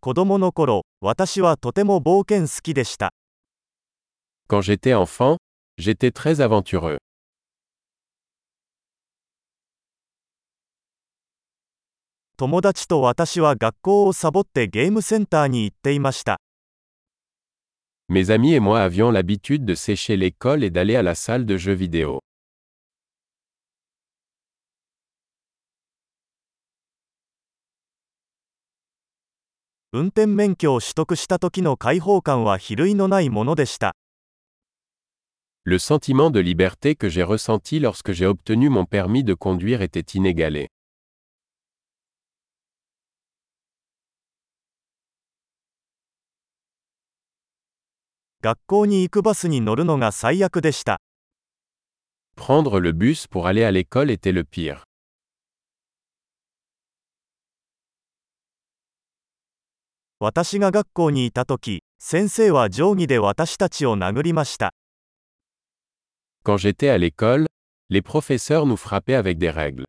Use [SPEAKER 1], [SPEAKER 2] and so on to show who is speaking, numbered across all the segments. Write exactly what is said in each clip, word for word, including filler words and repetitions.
[SPEAKER 1] 子供の頃、私はとても冒険好きでした。
[SPEAKER 2] Quand j'étais enfant, j'étais très aventureux.
[SPEAKER 1] 友達と私は学校をサボってゲームセンターに行っていました。
[SPEAKER 2] Mes amis et moi avions l'habitude de sécher l'école et d'aller à la salle de jeux vidéo.
[SPEAKER 1] 運転免許を取得した時の解放感は比類のないものでした。
[SPEAKER 2] Le sentiment de liberté que j'ai ressenti lorsque j'ai obtenu mon permis de conduire était inégalé.
[SPEAKER 1] 学校に行くバスに乗るのが最悪でした。
[SPEAKER 2] Prendre le bus pour aller à l'école était le pire.
[SPEAKER 1] 私が学校にいた時、先生は定規で私たちを殴りました。
[SPEAKER 2] Quand j'étais à l'école, les professeurs nous frappaient avec des règles.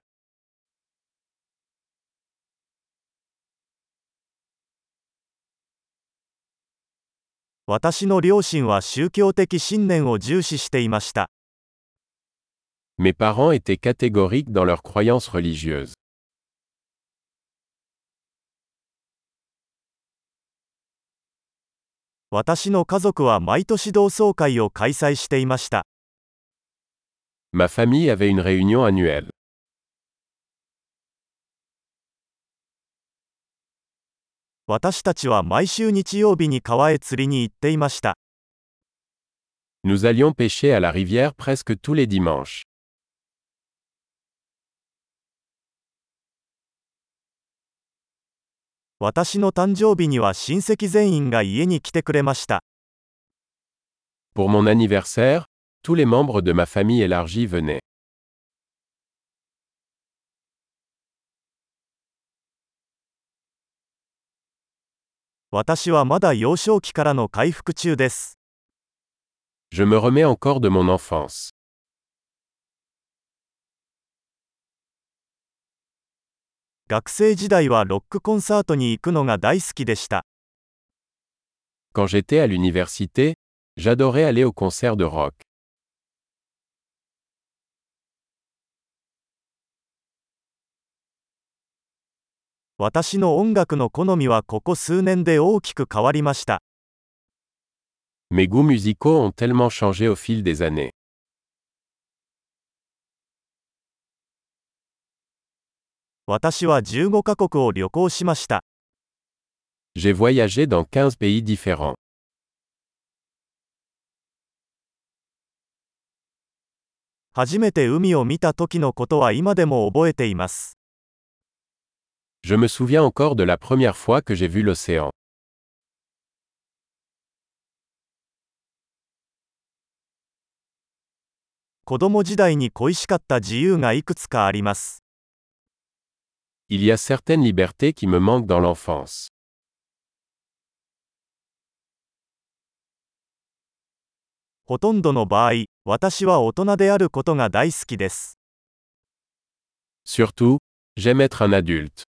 [SPEAKER 1] 私の両親は宗教的信念を重視していました。
[SPEAKER 2] Mes parents étaient catégoriques dans leurs croyances religieuses.
[SPEAKER 1] 私の家族は毎年同窓会を開催していました。
[SPEAKER 2] Ma famille avait une réunion annuelle.
[SPEAKER 1] 私たちは毎週日曜日に川へ釣りに行っていました。
[SPEAKER 2] Nous allions pêcher à la rivière presque tous les dimanches.
[SPEAKER 1] 私の誕生日には親戚全員が家に来てくれました。
[SPEAKER 2] Pour mon anniversaire, tous les membres de ma famille élargie venaient.
[SPEAKER 1] 私はまだ幼少期からの回復中です。
[SPEAKER 2] Je me remets encore de mon enfance.
[SPEAKER 1] 学生時代はロックコンサートに行くのが大好きでした。
[SPEAKER 2] Quand j'étais à l'université, j'adorais aller aux concerts de rock.
[SPEAKER 1] 私の音楽の好みはここ数年で大きく変わりました。
[SPEAKER 2] Mes goûts musicaux ont tellement changé au fil des années.
[SPEAKER 1] 私はじゅうごカ国を旅行しました。
[SPEAKER 2] J'ai voyagé dans quinze pays différents.
[SPEAKER 1] 初めて海を見た時のことは今でも覚えています。
[SPEAKER 2] Je me souviens encore de la première fois que j'ai vu l'océan.
[SPEAKER 1] 子供時代に恋しかった自由がいくつかあります。
[SPEAKER 2] Il y a certaines libertés qui me manquent dans l'enfance.
[SPEAKER 1] ほとんどの場合、私は大人であることが大好きです。
[SPEAKER 2] Surtout, j'aime être un adulte.